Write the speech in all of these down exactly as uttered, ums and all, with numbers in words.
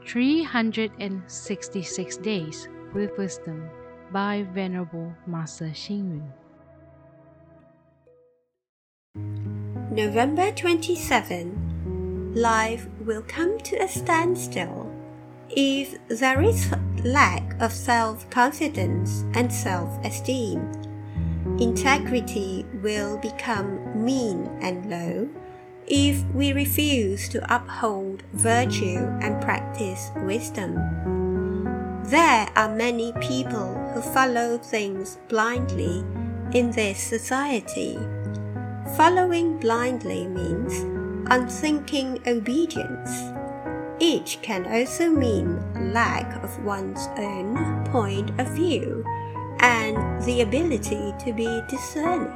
three hundred sixty-six Days with Wisdom by Venerable Master Xing Yun. November twenty-seventh. Life will come to a standstill if there is lack of self-confidence and self-esteem. Integrity will become mean and low if we refuse to uphold virtue and practice wisdom. There are many people who follow things blindly in this society. Following blindly means unthinking obedience. It can also mean lack of one's own point of view and the ability to be discerning.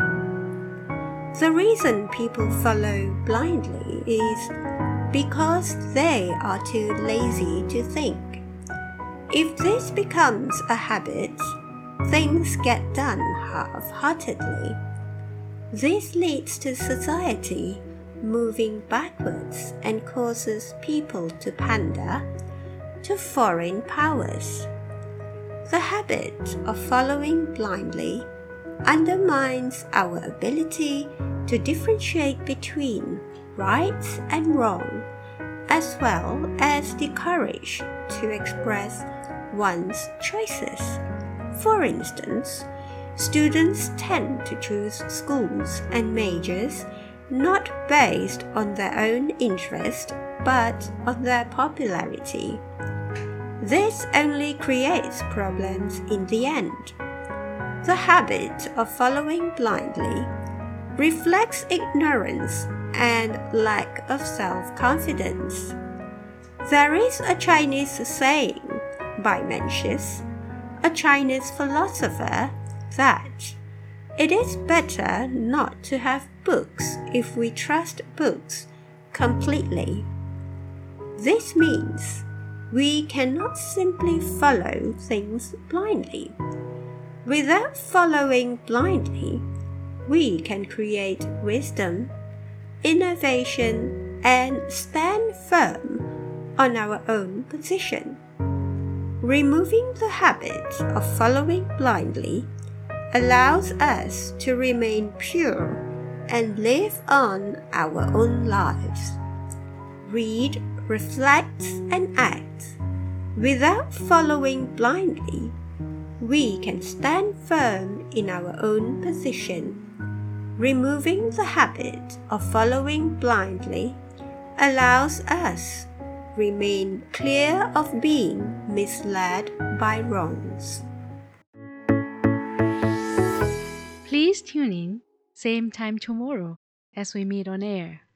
The reason people follow blindly is because they are too lazy to think. If this becomes a habit, things get done half-heartedly. This leads to society moving backwards and causes people to pander to foreign powers. The habit of following blindly undermines our ability to differentiate between right and wrong, as well as the courage to express one's choices. For instance, students tend to choose schools and majors not based on their own interest but on their popularity. This only creates problems in the end. The habit of following blindly reflects ignorance and lack of self-confidence. There is a Chinese saying by Mencius, a Chinese philosopher, that it is better not to have books if we trust books completely. This means we cannot simply follow things blindly. Without following blindly, we can create wisdom, innovation, and stand firm on our own position. Removing the habit of following blindly allows us to remain pure and live on our own lives. Read, reflect, and act. Without following blindly, we can stand firm in our own position. Removing the habit of following blindly allows us remain clear of being misled by wrongs. Please tune in, same time tomorrow as we meet on air.